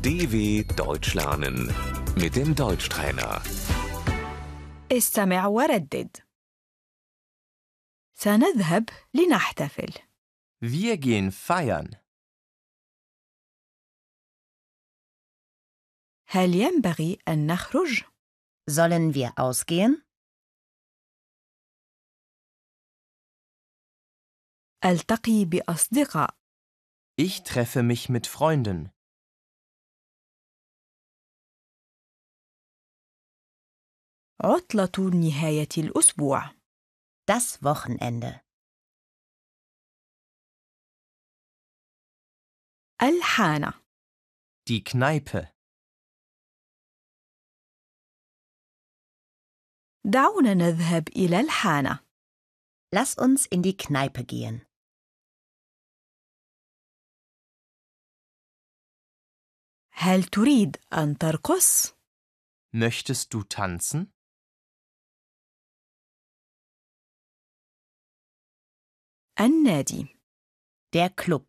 DW Deutsch lernen mit dem Deutschtrainer. استمع وردد. سنذهب لنحتفل. Wir gehen feiern. هل ينبغي أن نخرج؟ Sollen wir ausgehen? ألتقي بأصدقاء. Ich treffe mich mit Freunden. عطلة نهاية الأسبوع. Das Wochenende. الحانة. Die Kneipe. دعونا نذهب إلى الحانة. Lass uns in die Kneipe gehen. هل تريد أن ترقص؟ Möchtest du tanzen? النادي. Der Club.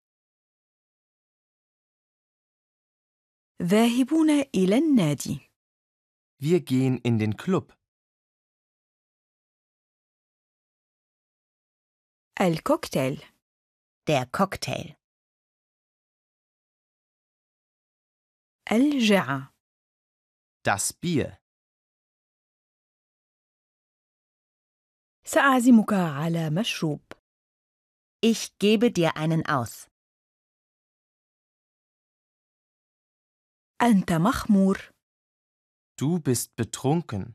ذاهبون إلى النادي. Wir gehen in den Club. الكوكتيل. Der Cocktail. الجعة. Das Bier. سأعزمك على مشروب. Ich gebe dir einen aus. أنت مخمور. Du bist betrunken.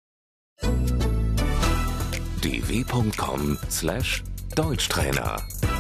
dw.com/Deutschtrainer